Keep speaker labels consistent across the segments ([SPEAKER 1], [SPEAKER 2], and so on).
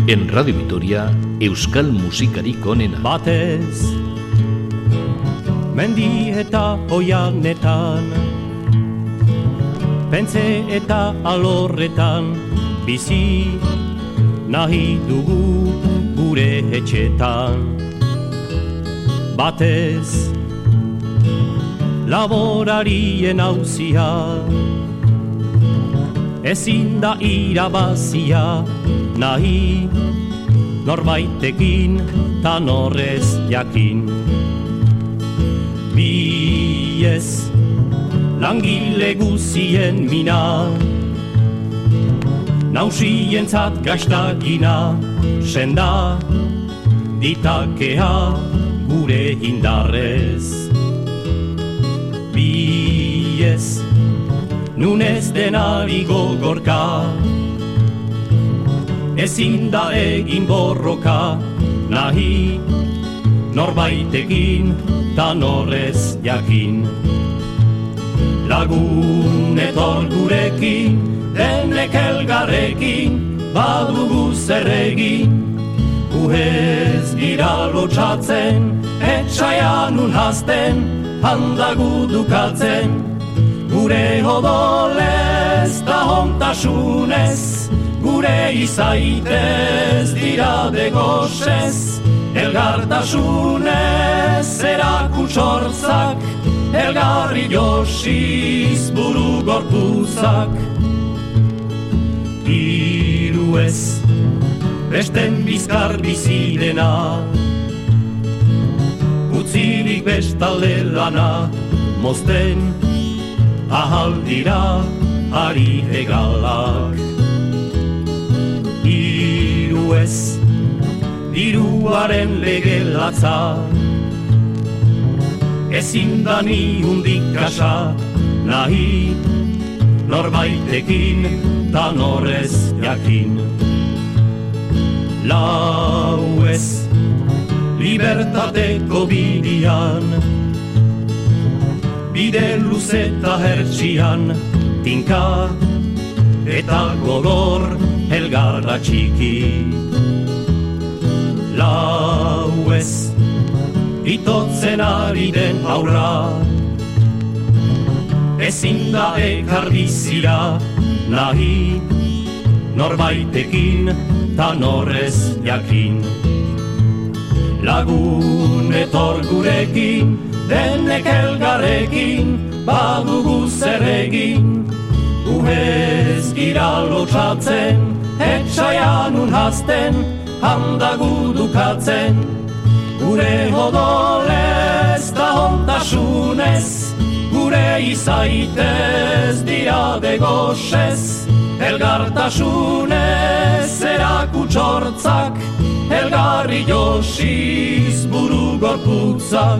[SPEAKER 1] En Radio Vitoria, euskal musikarik onena.
[SPEAKER 2] Batez, mendi eta oianetan, pentze eta alorretan, bizi nahi dugu gure etxetan. Batez, laborarien auzia, ezin da irabazia, nahi norbaitekin ta norrez jakin. Biez langile guzien mina, nausientzat gaztagina, senda ditakea gure indarrez. Biez nunez denari gogorka, ezin da egin borroka, nahi norbaitekin ta norrez jakin. Lagun etor gurekin, denek elgarrekin, badugu zer egin. Gu ez gira lotxatzen, etxaian unhazten, handagu dukatzen. Gure odolez da hontasunez, gure izaitez dira degosez, elgartasunez erakutsortzak, elgarri josiz buru gorpuzak. Hiru ez, besten bizkar bizidena, utzirik bestalde lana, mozten ahal dira ari egalak. Hiru ez, diruaren lege latza, ezin da ni hundik kasa, nahi norbaitekin ta norrez jakin. Lau ez, libertateko bidian, bide luzeta hertsian, tinka eta gogor elgarra txiki. Lau ez, itotzen ari den aurra, ezin da ekar bizira, nahi norbaitekin ta norrez jakin. Lagun etor gurekin, denek elgarrekin, badugu zer egin. Gu ez gira lotxatzen, etxaian unhazten, handagu dukatzen. Gure odolez da hontasunez, gure izaitez dira degosez, elgartasunez erakutsortzak, elgarri josiz buru gorputzak.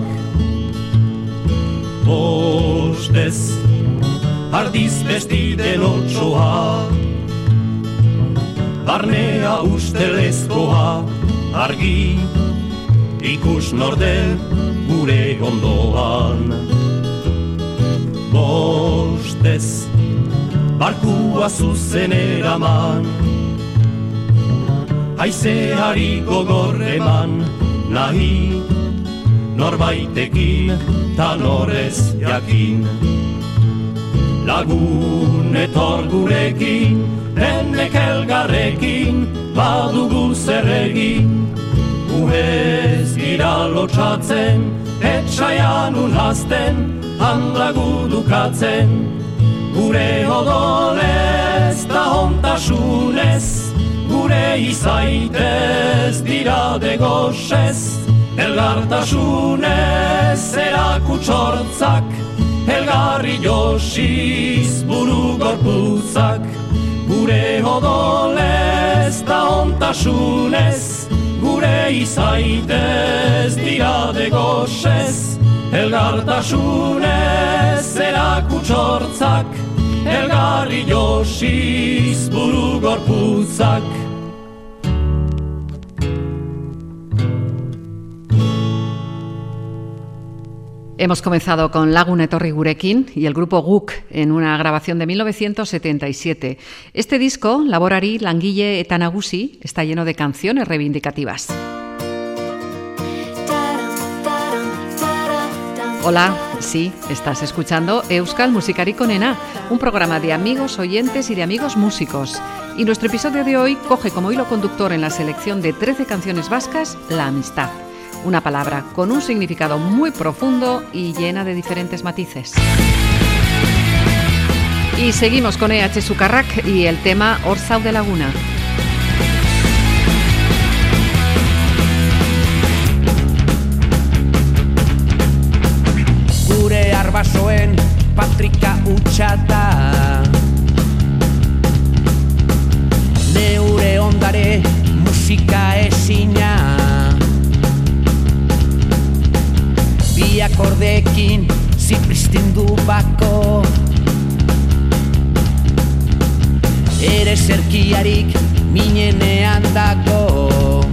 [SPEAKER 2] Bostez, ardiz bestiden otsoa, barnea ustelezkoa, argi ikus norden gure ondoan. Bostez, barkua zuzen eraman, haizeari gogor eman, nahi norbaitekin ta norrez jakin. Lagun etor gurekin, denek elgarrekin, badugu zer egin. Gu ez gira lotxatzen, etxaian unhazten, handagu dukatzen. Gure odolez da hontasunez, gure izaitez dira degosez, elgartasunez erakutsortzak, elgarri josiz buru gorputzak. Gure odolez da hontasunez, gure izaitez dira degosez, elgartasunez erakutsortzak, elgarri josiz buru gorputzak.
[SPEAKER 3] Hemos comenzado con Lagun etorri gurekin y el grupo Guk en una grabación de 1977. Este disco, Laborari, Langile eta Nagusi, está lleno de canciones reivindicativas. Hola, sí, estás escuchando Euskal Musikarik Onena, un programa de amigos oyentes y de amigos músicos. Y nuestro episodio de hoy coge como hilo conductor en la selección de 13 canciones vascas la amistad. Una palabra con un significado muy profundo y llena de diferentes matices. Y seguimos con EH Sukarrak y el tema Hor zaude laguna.
[SPEAKER 4] Gure arbasoen patrika utxata, neure ondare musika ezina, bi akordekin zipristindu bako, ere zerkiarik minenean dago,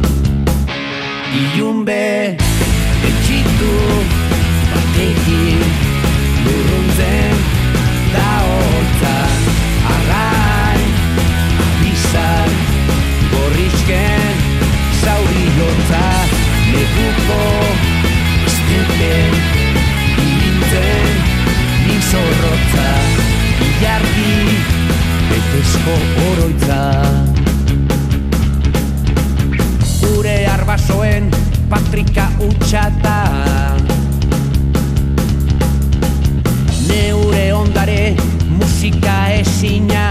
[SPEAKER 4] ilunbe etxitu batekin lurruntzen da holtza, arrain abizan gorrizken zauri lotza, neguko estepen ilintzen nizorrotza, ilargi betezko oroitza. Gure arbasoen patrika utxata, neure ondare musika ezina,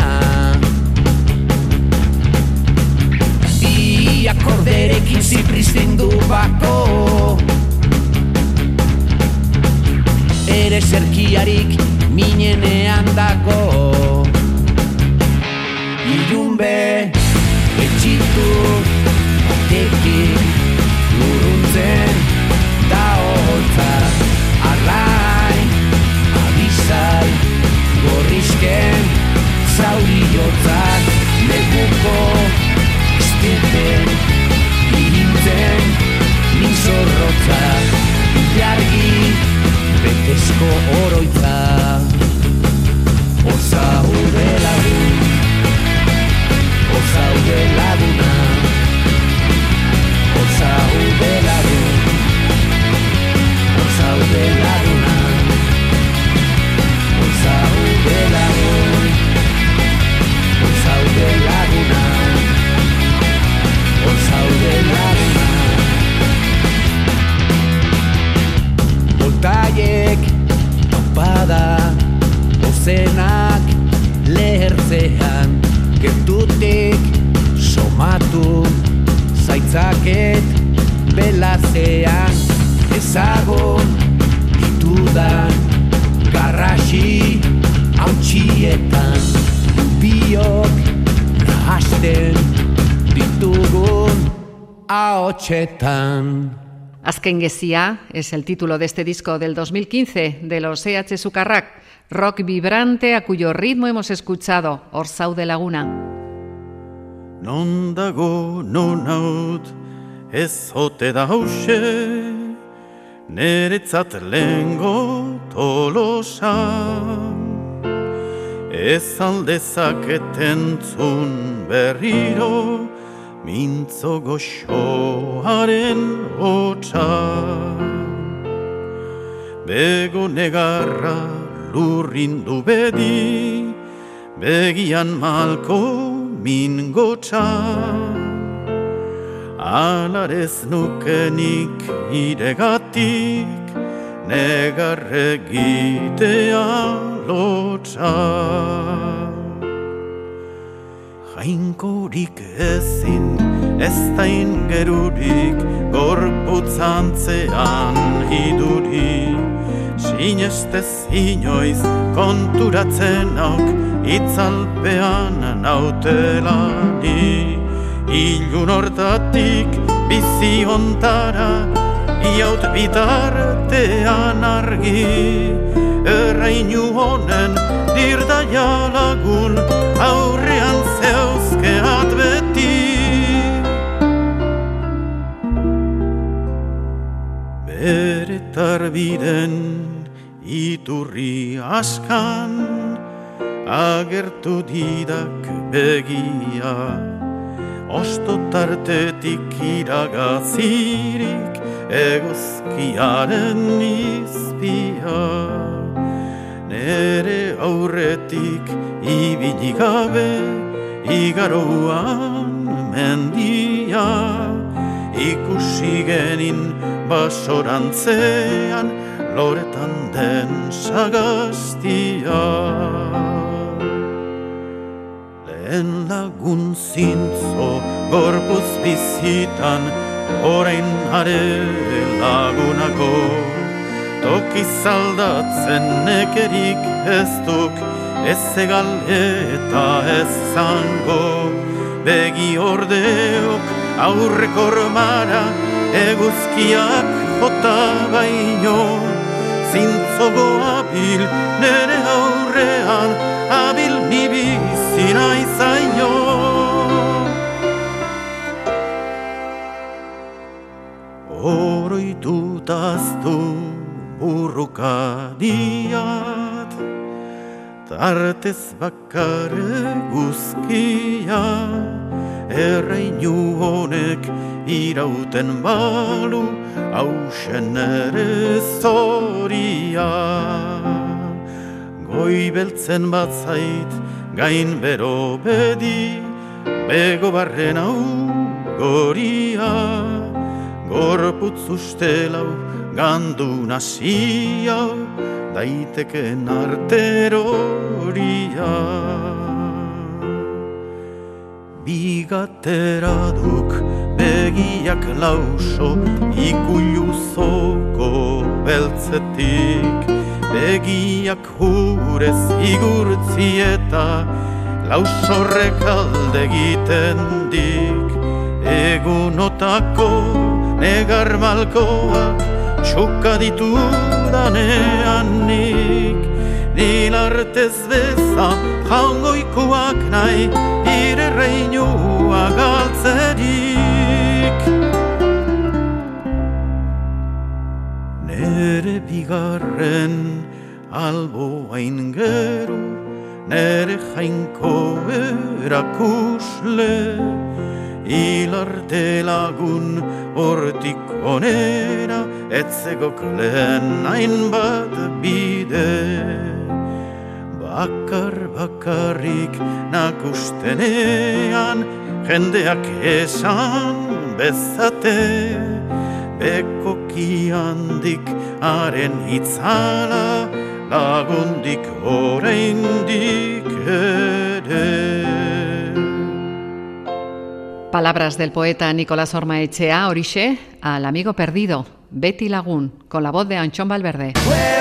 [SPEAKER 4] bi akorderekin zipristindu bako, ere zerkiarik minenean dago, ilunbe etxitu batekin lurruntzen da holtza, arrain abizal gorrizken zauri jotzak, neguko estepen ilintzen nizorrotza, ilargi betezko oroitza. Hor zaude lagun, hor zaude laguna, hor zaude lagun, hor zaude laguna, hor zaude lagun, hor zaude laguna, hor zaude laguna. Voltaiek topada, ozenak lehertzean, gertutik somatu zaitzaket belazean, ezagun ditudan garrasi hautsietan, biok nahasten ditugun ahotsetan.
[SPEAKER 3] Azken gezia es el título de este disco del 2015 de los EH Sukarrak, rock vibrante a cuyo ritmo hemos escuchado Hor zaude laguna.
[SPEAKER 5] Non dago non haut ez ote da hause, neretzat lehengo tolosa, ez aldezaketen zun berriro mintzo goxoaren hotza, bego negarra lurrindu bedi, begian malko min gotza, alarez nukenik iregatik negarregitea lotza. Jainkorik ezin, ez da ingerurik, gorputzantzean iduri, sinestez inoiz konturatzenok itzalpean nautelani, ilun hortatik bizi ontara, iaut bitartean argi, errainu honen dirdaia lagun, aurrean zeuzkeat beti. Bereta sarbiden iturri askan agertu didak begia, osto tartetik iragazirik eguzkiaren izpia. Nere aurretik ibili gabe igaroan mendia, ikusi genin basorantzean loretan den sagaztia. Lehen lagun zintzo gorpuz bizitan, orain are lagunago, toki zaldatzen nekerik ez duk, ez egal eta ez zango. Begi ordeok aurreko ormara, eguzkiak jota baino, zintzogo abil nere aurrean, abil ni bizi naizaino. Oroitutaztu burrukadiat, tartez bakar eguzkia, erreinu honek irauten balu, hausen ere zoria. Goibeltzen bat zait, gain bero bedi, bego barren hau goria, gorputz ustelau gandu nasia, daiteken arteroria. Bigatera duk begiak lauso, ikuluzoko beltzetik, begiak hurez igurtzieta, lausorrek alde egiten dik. Egunotako negar malkoak txuka ditudanean nik, nilartez beza jaungoikoak nahi, ire reinua galtzerik. Nere bigarren alboain gero, nere jainko erakusle, hilarte lagun hortik onera, etzegok lehen hainbat bide. Bakarrik nakustenean, jendeak esan bezate, bekoki handik haren itzala, lagundik oraindik ere.
[SPEAKER 3] Palabras del poeta Nicolás Ormaechea, horixe, al amigo perdido, Beti Lagun, con la voz de Anchón Valverde.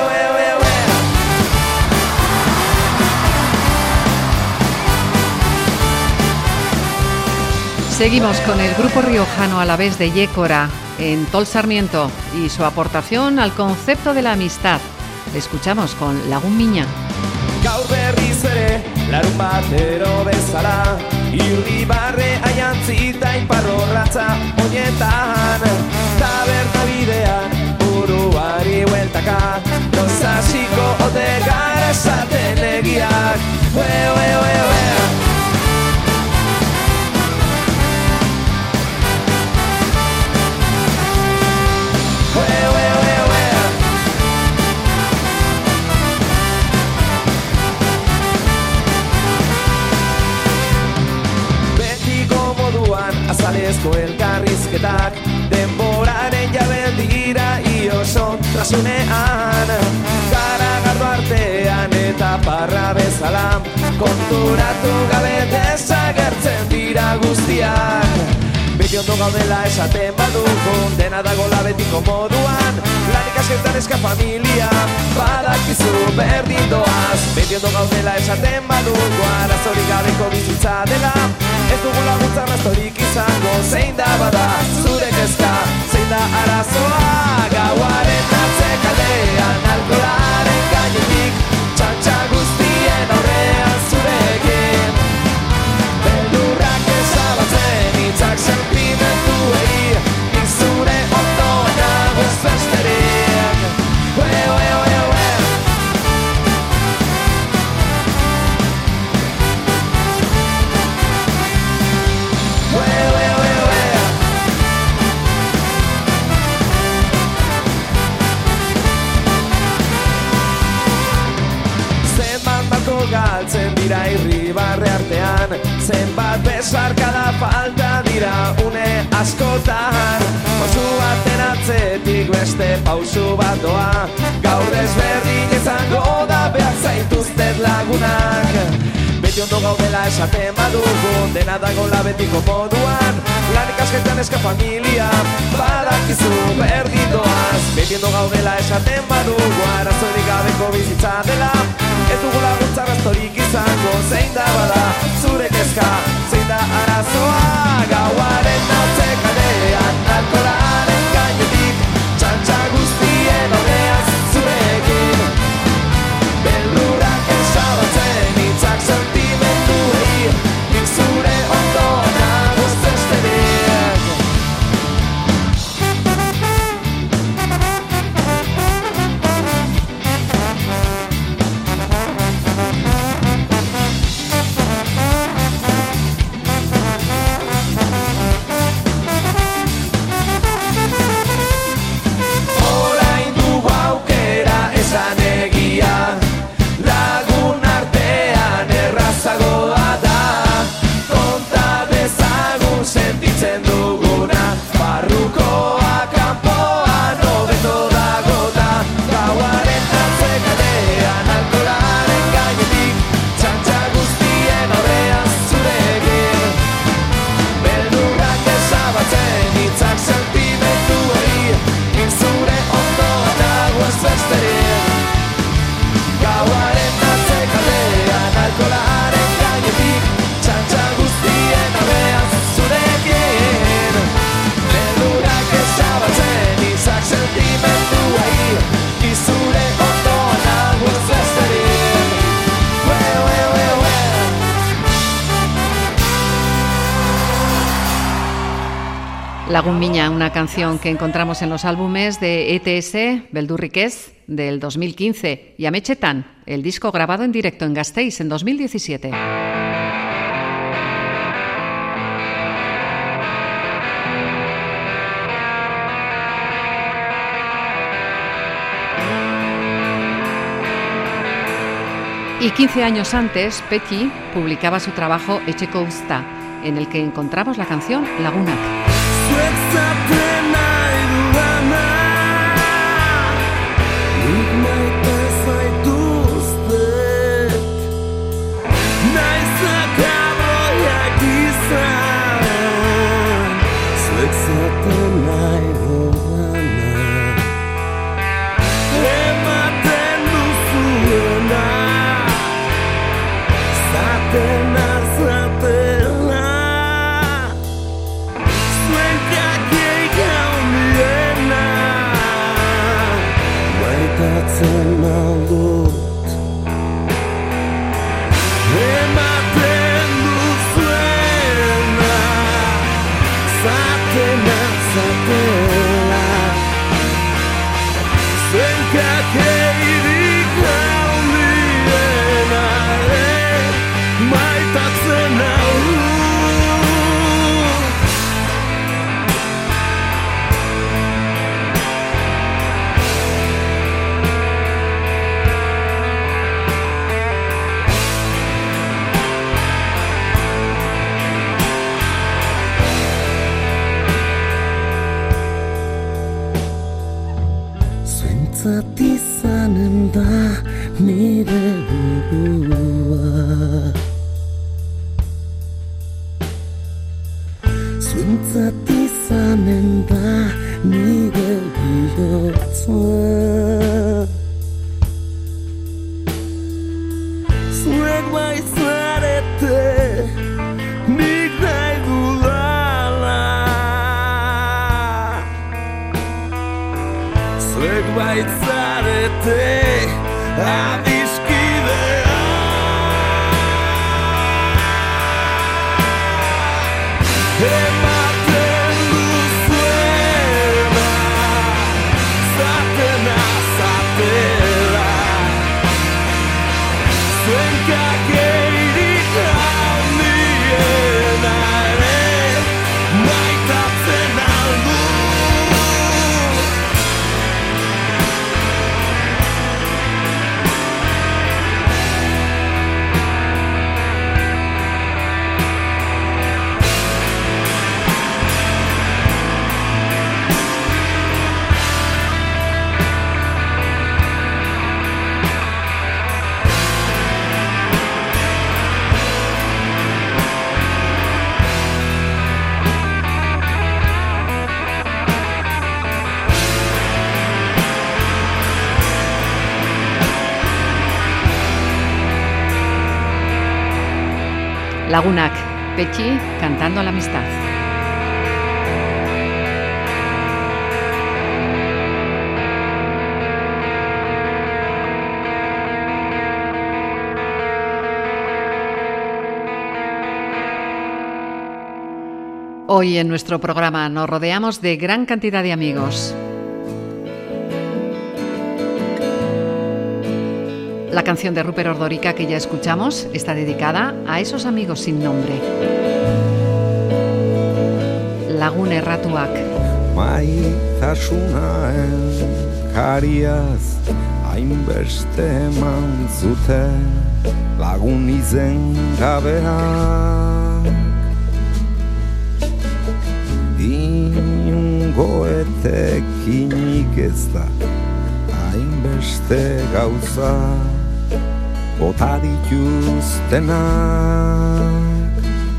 [SPEAKER 3] Seguimos con el grupo riojano Alavés de Yécora en Tol Sarmiento y su aportación al concepto de la amistad. Le escuchamos con Lagun Miña.
[SPEAKER 4] Gaur berriz ere, larun batero bezala, irribarre aiantzita iparrorratza oietan, taberna bidean, buruari hueltaka, dozasiko ote gara esaten egiak. Azalezko elkarrizketak, denboraren jabel dira ioso trasunean, garagardo artean eta parra bezala, konturatu gabe desagertzen dira guztiak. Beti ondo gaudela esaten badugu, dena dagola betiko moduan, lanik asketan eska familia, badakizu berdin doaz. Beti ondo gaudela esaten badugu, arazorik gabeko bizitza dela, ez dugu laguntza arrastorik izango, zein da bada zure kezka, zein da arazoa. Gauaren atzekaldean, alkoholaren gainetik, txantxa guztien aurrean zurekin, beldurrak ezabatzen hitzak sentimenduei, izure ondo nagoz besterik. askotan pausu baten atzetik beste pausu bat doa. Gaur desberdin izango da behar zaituztet lagunak. Beti ondo gaudela esaten badugu, dena dagoela betiko moduan. Lan ikasketan eska familia, badakizu berdin doaz. Beti ondo gaudela esaten badugu, arazorik gabeko bizitza dela. Ez dugu laguntza arrastorik izango, zein da bada zure kezka, zein da arazoa. Gauaren atzekaldean, alkoholaren gainetik, txantxa guztien aurreaz zurekin. Beldurrak esabatzen hitzak sentimenduei, nik zure ondoan nago ez besterik. Orain dugu aukera esan egia, lagun artean errazagoa da. Konta dezagun sentitzen duguna, barrukoa kanpoan hobeto dago da. Gauaren atzekaldean, alkoholaren gainetik, txantxa guztien aurrean zurekin. Beldurrak esabatzen hitzak sentimenduei, nik zure ondoan nago ez besterik. Gauaren atzekaldean, alkoholaren gainetik, txantxa guztien aurrean zurekin. Beldurrak esabatzen hitzak sentimenduei, nik zure ondoan nago ez besterik.
[SPEAKER 3] Lagun Miña, una canción que encontramos en los álbumes de ETS, Beldurrik ez, del 2015, y Ametxetan, el disco grabado en directo en Gasteiz en 2017. Y 15 años antes, Petty publicaba su trabajo Etxeko Uzta, en el que encontramos la canción Lagunak.
[SPEAKER 6] Zatizanen da nire burua, zuentzatizanen da nire bihotza. Zuek baizarete nik nahi dudala, zuek baitzarete adiskidea. Ematen duzuena, zatena zatela, zuen kakeirik handiena ere maitatzen aldu.
[SPEAKER 3] Lagunak, Petxi cantando a la amistad. Hoy en nuestro programa nos rodeamos de gran cantidad de amigos. La canción de Ruper Ordorika que ya escuchamos está dedicada a esos amigos sin nombre. Lagun erratuak.
[SPEAKER 7] Maitasunaen kariaz hainbeste eman zute lagun izen gabeak. Inungo etekinik ez da hainbeste gauza bota dituztenak.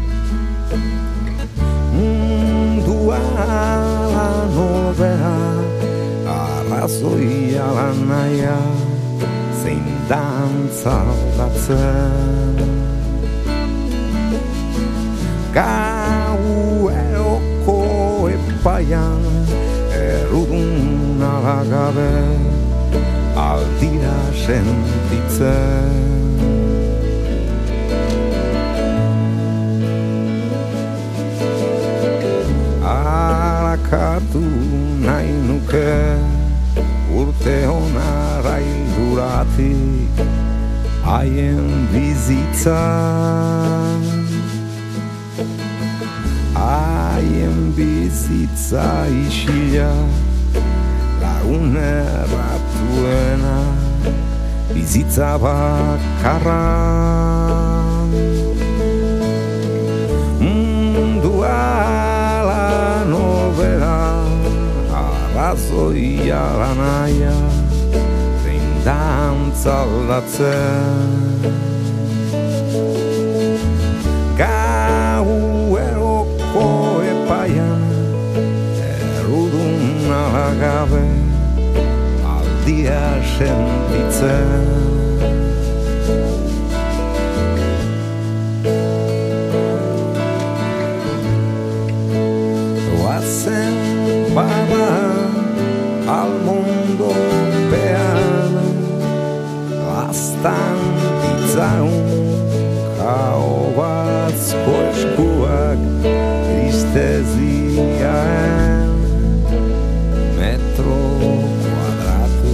[SPEAKER 7] Mundua nobea arrazoia lanaia zein dantza aldatzen. Gaueko epaian errudun alagabe aldira sentitzen. Arakatu nahi nuke urte honara hilduratik haien bizitza. Haien bizitza isila lagun erratuena bizitza bakarra. Mundua la nobera arrazoia lanaia zein dantza aldatzen. Gaueko epaian errudun alagabe aldia sentitzen. Oazen bada al mundo pean lastan ditzaun Haubazko eskuak tristeziaen metro kuadratu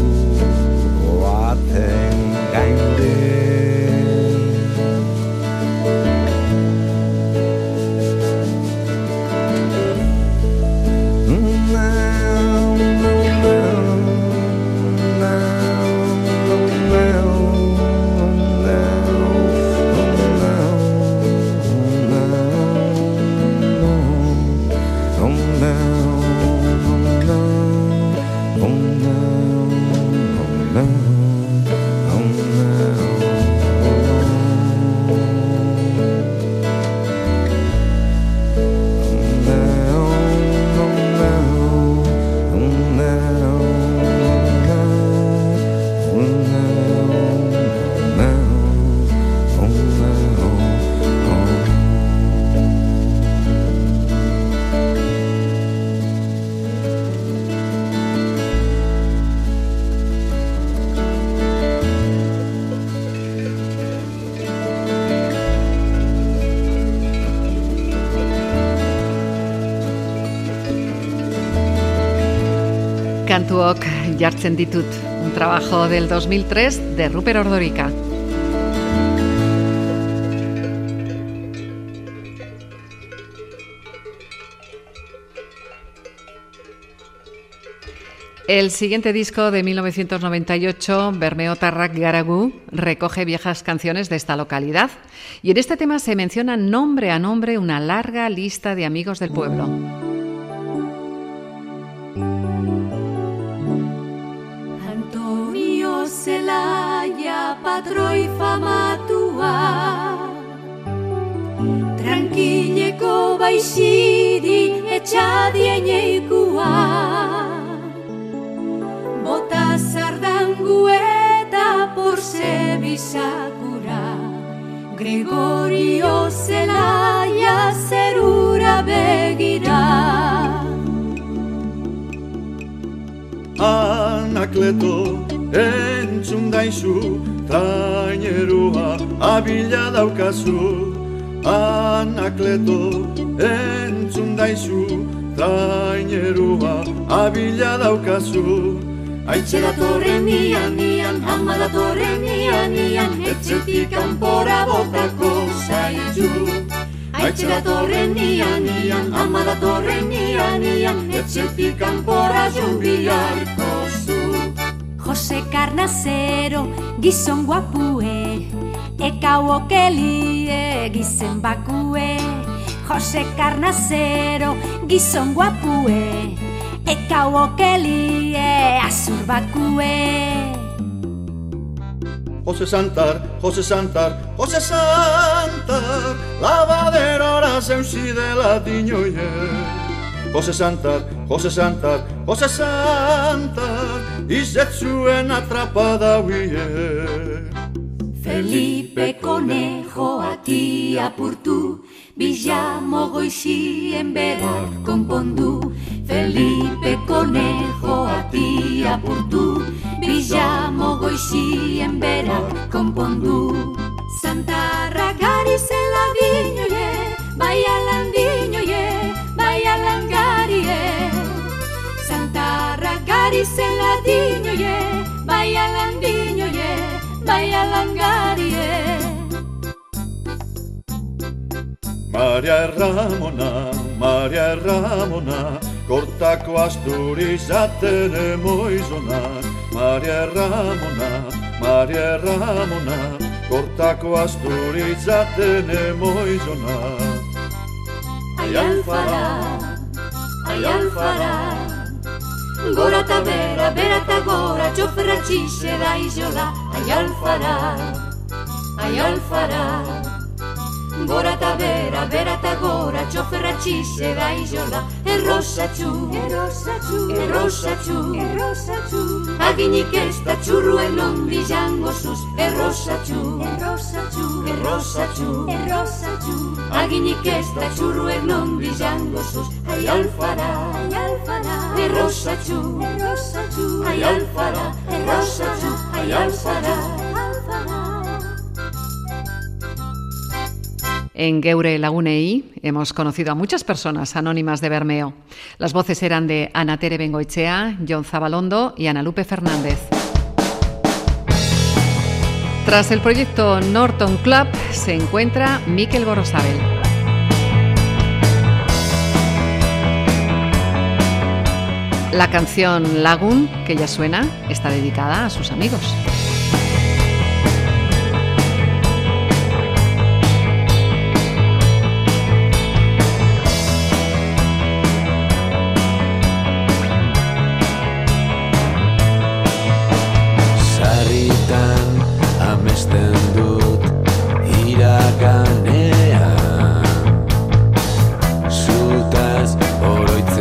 [SPEAKER 7] baten gainde.
[SPEAKER 3] Kantuok jartzen ditut, un trabajo del 2003 de Ruper Ordorika. El siguiente disco de 1998, Bermeotarrak Garagu, recoge viejas canciones de esta localidad y en este tema se menciona nombre a nombre una larga lista de amigos del pueblo.
[SPEAKER 8] Antonio Zelaya, patroi famatua, tranquileko baixiri etxadieneikua. Bota zardangu eta porze bizakura, Gregorio Zelaya
[SPEAKER 5] Anakleto entzun daizu, trainerua abila daukazu. Anakleto entzun daizu, trainerua abila daukazu.
[SPEAKER 8] Aitxe datorren ian, ama datorren ian, etxetik kanpora botako zaitu. Aitxe datorren ian, ama datorren ian, etxetik kanpora joan biharko zu.
[SPEAKER 9] Jose Carnazero, gizon guapue, ekau okelie, gizen bakue. Jose Carnazero, gizon guapue, ekau okelie, azur bakue.
[SPEAKER 5] Jose Santar, Jose Santar, Jose Santar, lavaderora zeusi dela dinoie. Jose Santar, Jose Santar, Jose Santar, izetzuen atrapada huie.
[SPEAKER 8] Felipe Conejo ati apurtu, Billamo goizien berak konpondu. Felipe Conejo ati apurtu, Billamo goizien berak konpondu. Santarra gari zela dinoie, bai alan dinoie, bai alan garie. Santarra gari zela dinoie, bai alan dinoie, bai alan garie.
[SPEAKER 5] Maria Ramona, kortako asturiz aten emoizona. Maria Ramona, kortako asturiz aten emoizona.
[SPEAKER 8] Ai alfara, gora ta bera, bera ta gora, txoferra txixe da izola. Ai alfara, gora ta bera, bera ta gora, txoferra txixe da izola. Errosatxu, aginik ez da txurruen ondi jango zuz. Errosatxu, aginik ez da txurruen ondi jango zuz. Ai alfara, errosatxu, ai alfara, errosatxu, ai alfara.
[SPEAKER 3] En Geure Lagunei hemos conocido a muchas personas anónimas de Bermeo. Las voces eran de Ana Tere Bengoechea, Jon Zabalondo y Ana Lupe Fernández. Tras el proyecto Norton Club se encuentra Mikel Gorosabel. La canción Lagun, que ya suena, está dedicada a sus amigos.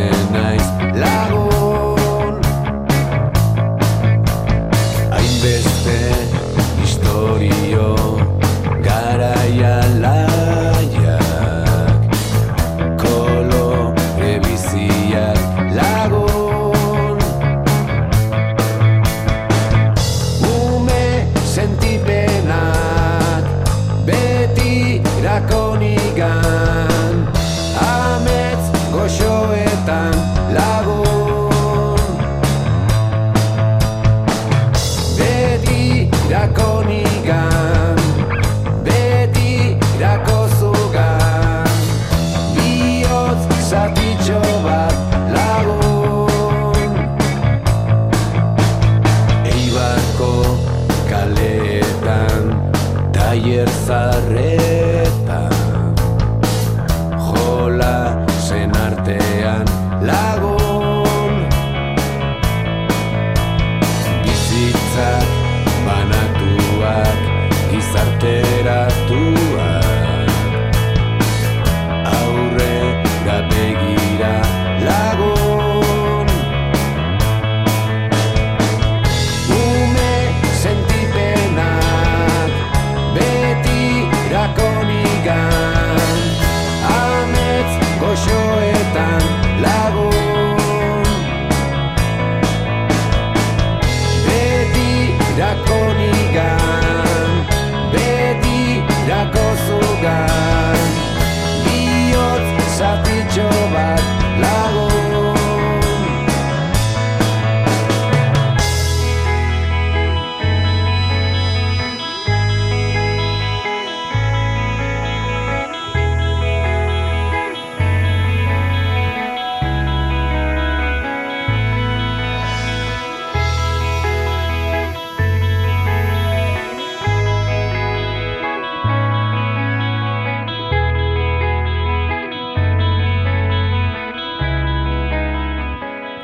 [SPEAKER 7] Hainbeste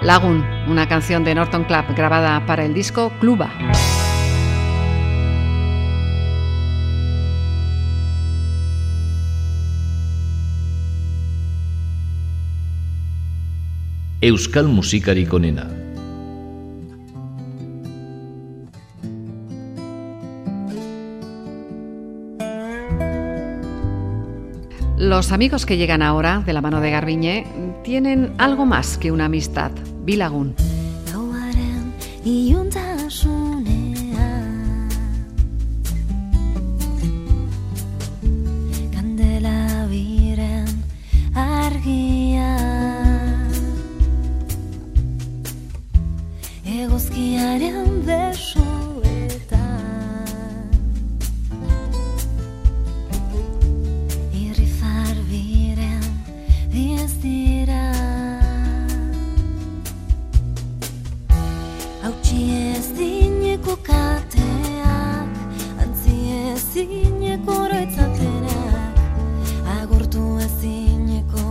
[SPEAKER 3] Lagoon, una canción de Norton Club grabada para el disco Cluba.
[SPEAKER 1] Euskal musikarik onena.
[SPEAKER 3] Los amigos que llegan ahora, de la mano de Garbiñe, tienen algo más que una amistad. Bilagun.
[SPEAKER 10] Eguzkiaren besoetan irrifar biren diez dira hautsi ez dineko kateak antzi ez dineko oroitzapenak agurtu ez dineko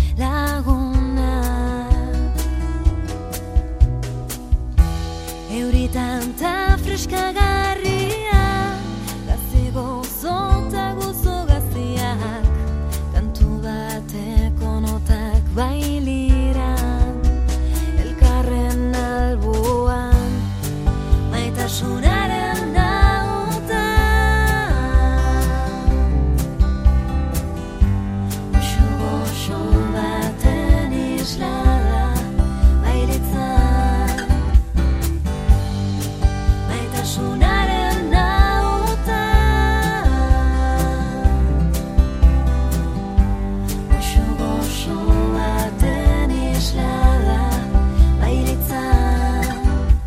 [SPEAKER 10] lagunak Tanta freskagarria Gazigo zota guzo gaziak Kantu bateko notak bailiran Elkarren alboan Maitasunaren nautan Goxo baten islada bailitzan Sunaren nautan Goxo baten islada bailitzan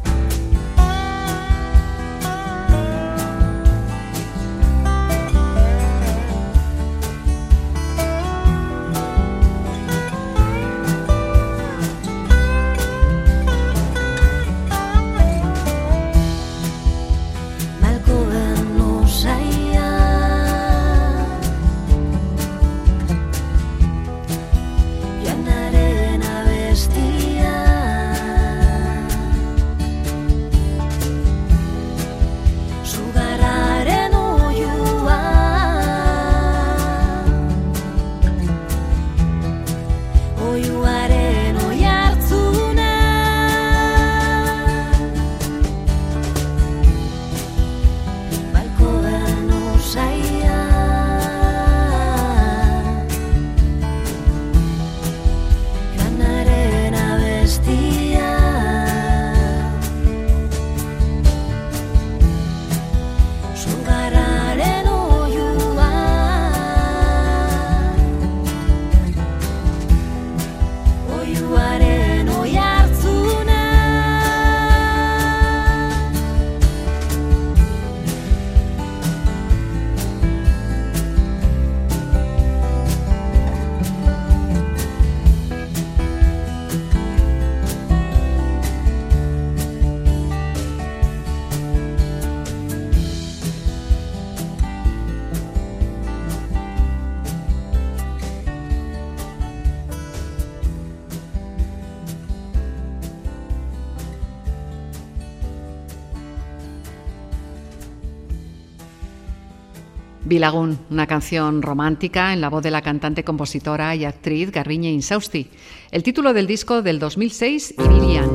[SPEAKER 3] Bilagun, una canción romántica en la voz de la cantante, compositora y actriz Garbiñe Insausti. El título del disco del 2006, Ibirian.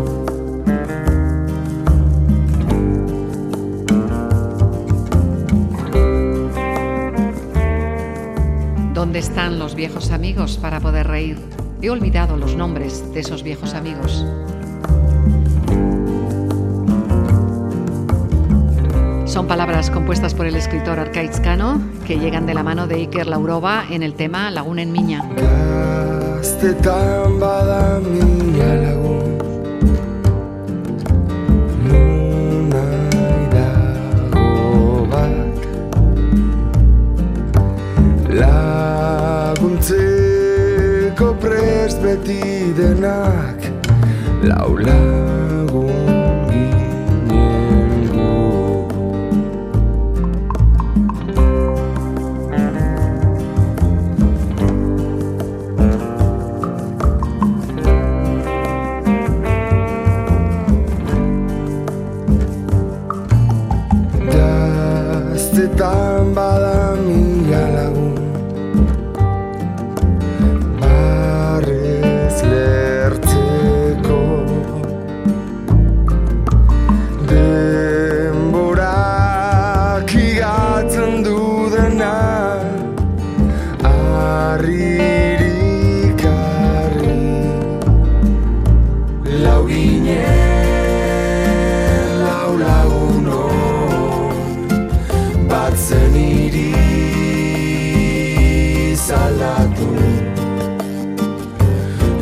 [SPEAKER 3] ¿Dónde están los viejos amigos para poder reír? He olvidado los nombres de esos viejos amigos. Son palabras compuestas por el escritor Arkaitz Cano, que llegan de la mano de Iker Laurova en el tema Lagunen Mina.
[SPEAKER 11] Gaztetan bada mina lagun Nunai dago bat Laguntzeko prest beti denak Lau lagun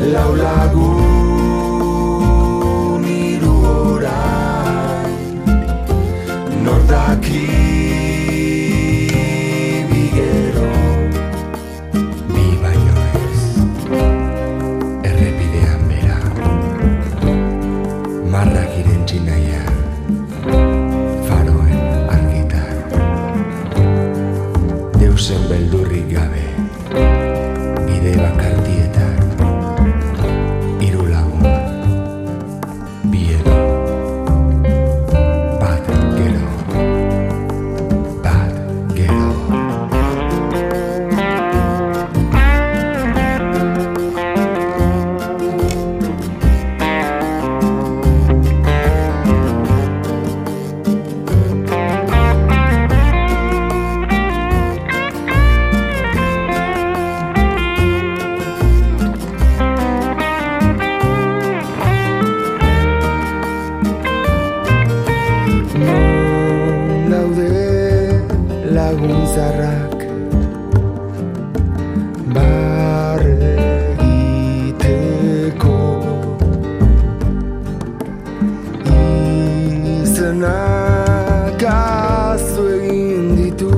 [SPEAKER 11] lau lagun hiru orain, nor daki bigero, bi baino ez, errepidean bera, marrak irentzi nahian, faroen argitan, deusen beldurrik gabe, bide bakartietan, hiru lagun, bi edo, bat gero, bat gero. Non daude lagun zarrak barre egiteko, izenak azu egin ditu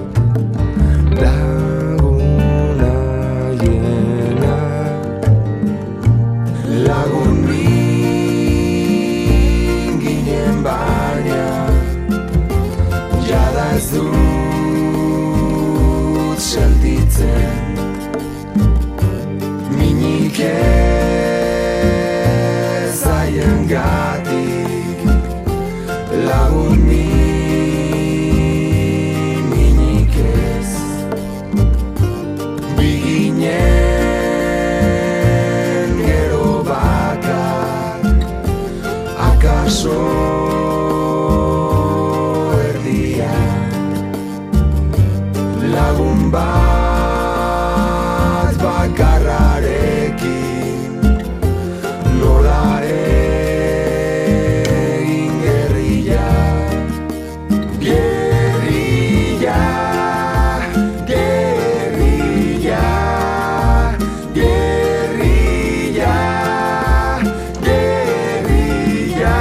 [SPEAKER 11] lagun haienak, lagun min ginen baina jada ez dut sentitzen, minik ez haiengatik, lagun minik ez, biginen gero bakar, akaso lagun bat bakarrarekin, nola egin gerrilla, gerrilla, gerrilla, gerrilla, gerrilla,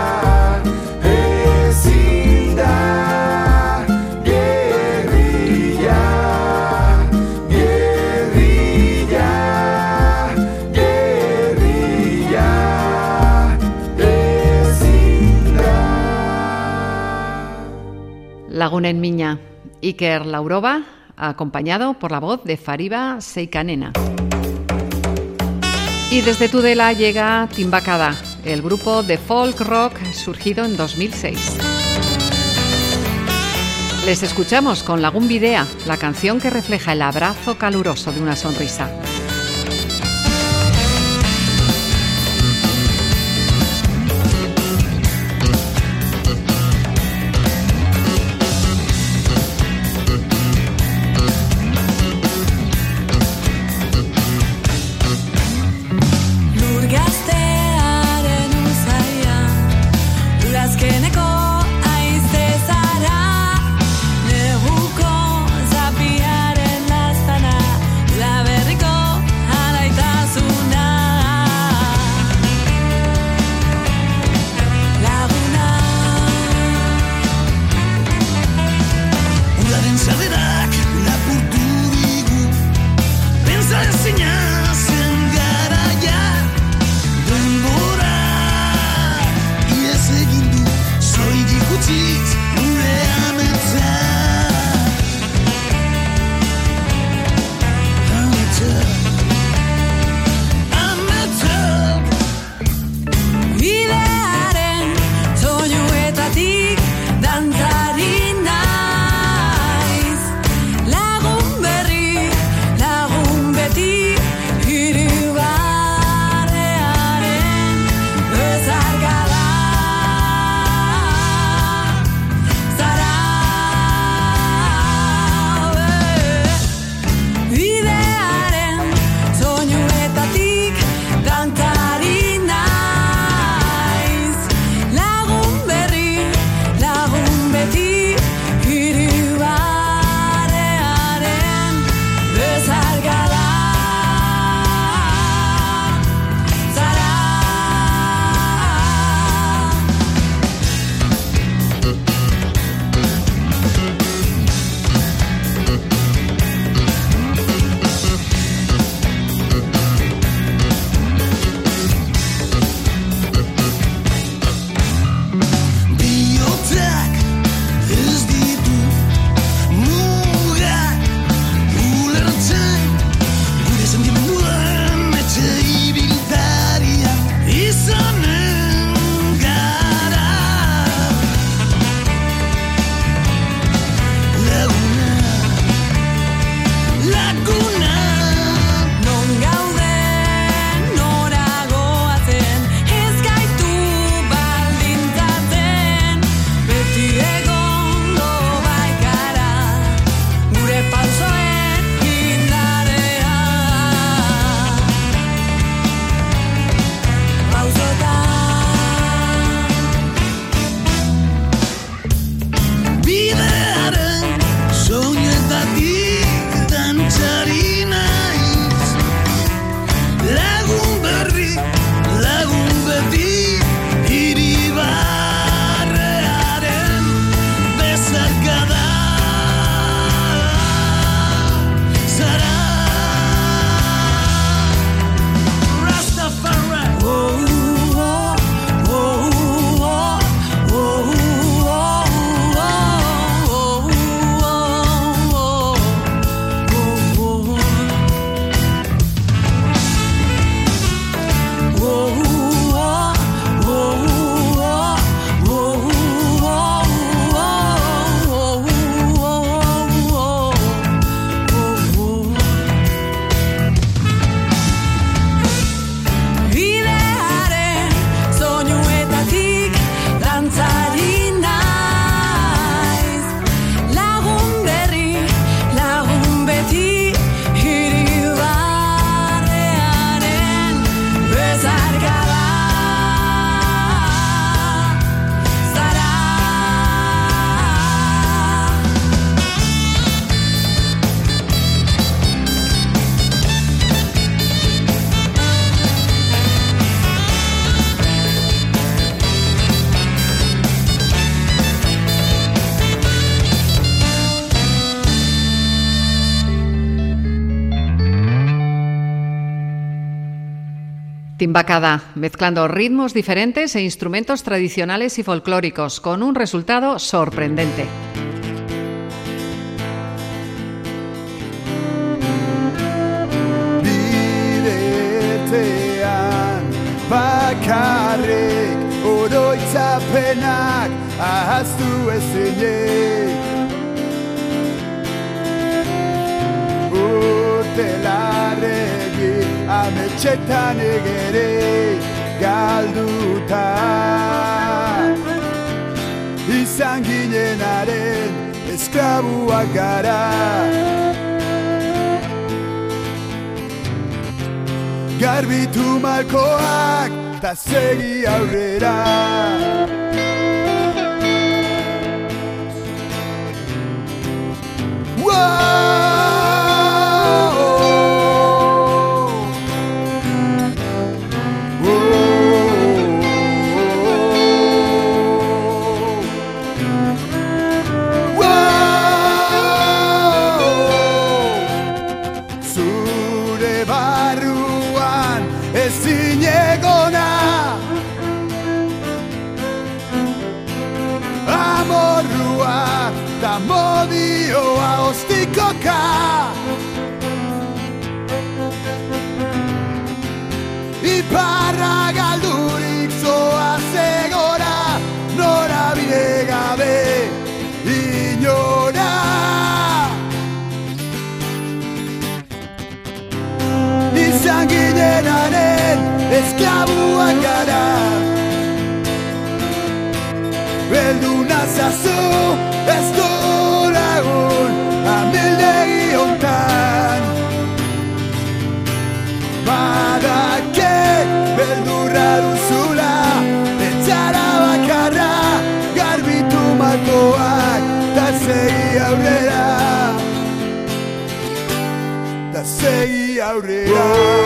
[SPEAKER 11] ezin da.
[SPEAKER 3] Lagunen Mina, Iker Laurova, acompañado por la voz de Fariba Seikanena. Y desde Tudela llega Timbakada, el grupo de folk rock surgido en 2006. Les escuchamos con Lagun Bidea, la canción que refleja el abrazo caluroso de una sonrisa.
[SPEAKER 10] Neguko zapiaren laztana, la berriko
[SPEAKER 3] Timbacada, mezclando ritmos diferentes e instrumentos tradicionales y folclóricos, con un resultado sorprendente.
[SPEAKER 12] Bidetean bakarrik oroitzapenak ahaztu ezinik Urtelarregi ametxetan egere galduta Izan ginenaren esklabuak gara Garbitu malkoak ta segi aurrera Zure barruan ezin egona Amorrua ta modioa ostikoka Iparra galdurik zoa zegora norabide gabe inora Izan ginenaren esklabuak gara Beldu nazazu ez du lagun amildegi hontan Badakek beldurra duzula etxara bakarra Garbitu malkoak ta segi aurrera Ta segi aurrera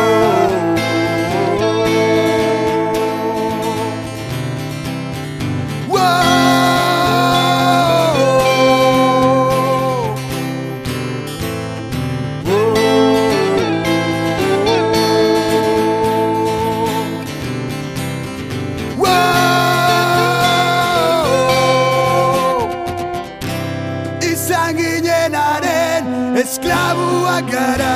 [SPEAKER 12] Izan ginenaren esklabuak gara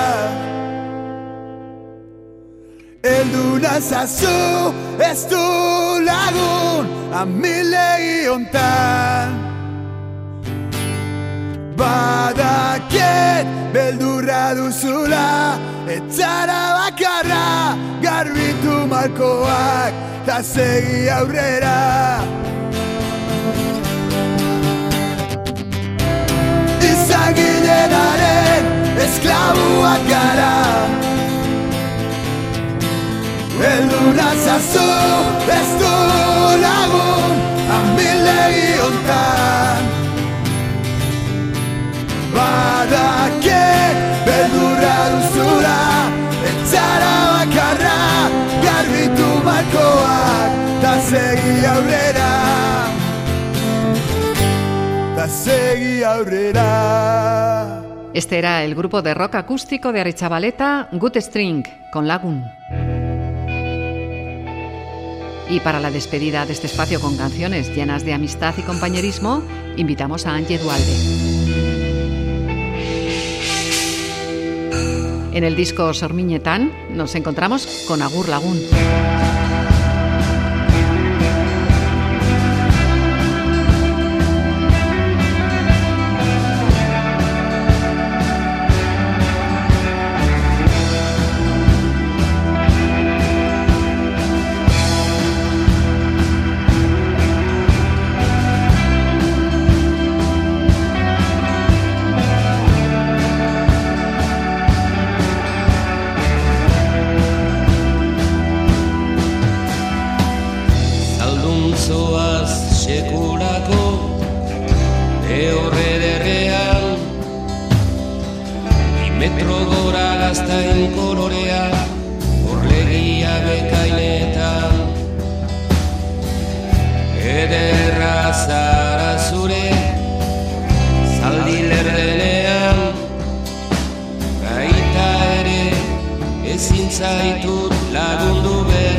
[SPEAKER 12] Eldu nazazu ez du lagun amildegi hontan Badakiet beldurra duzula etxara bakarra Garbitu malkoak ta segi aurrera Izan ginenaren esklabuak gara Eldu nazazu ez du lagun amildegi hontan Badakek beldurra duzula etxara bakarra Garbitu malkoak ta segi aurrera Ta segi aurrera
[SPEAKER 3] Este era el grupo de rock acústico de Aretxabaleta, Good String, con Lagun. Y para la despedida de este espacio con canciones llenas de amistad y compañerismo, invitamos a Angie Dualde. En el disco Sormiñetán nos encontramos con Agur Lagun.
[SPEAKER 13] Metro gora gaztain kolorea, orlegia bekainetan. Ederra zara zure, zaldi lerdenean. Gaita ere, ezin zaitut lagundu behar.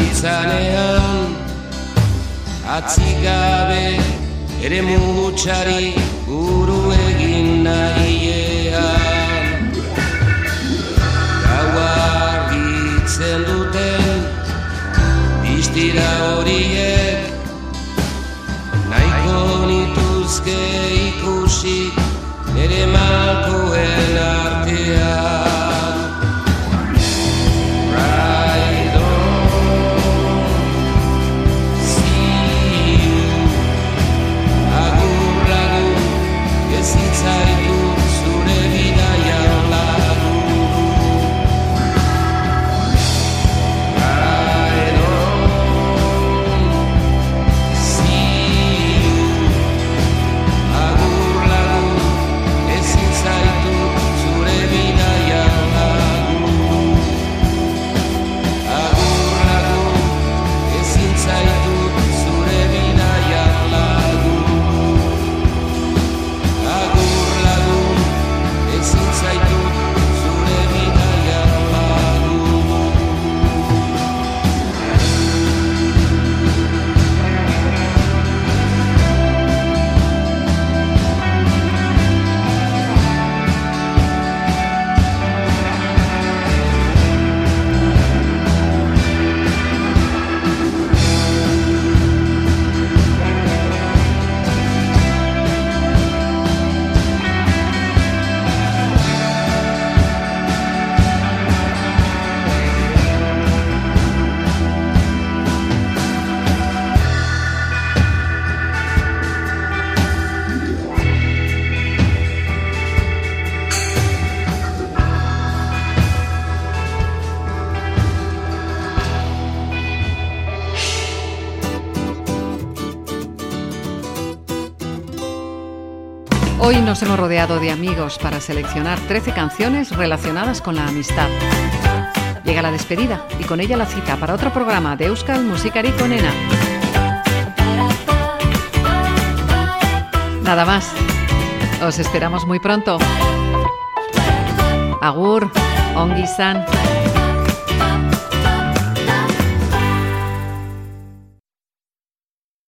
[SPEAKER 13] dabiltzanean Atzikabe ere mugutxari buru egin nahiean Gaua argitzen duten distira horiek Nahiko nituzke ikusi nere malkoen artean
[SPEAKER 3] Hoy nos hemos rodeado de amigos para seleccionar 13 canciones relacionadas con la amistad. Llega la despedida y con ella la cita para otro programa de Euskal Musikari Onena. Nada más. Os esperamos muy pronto. Agur, ongi izan.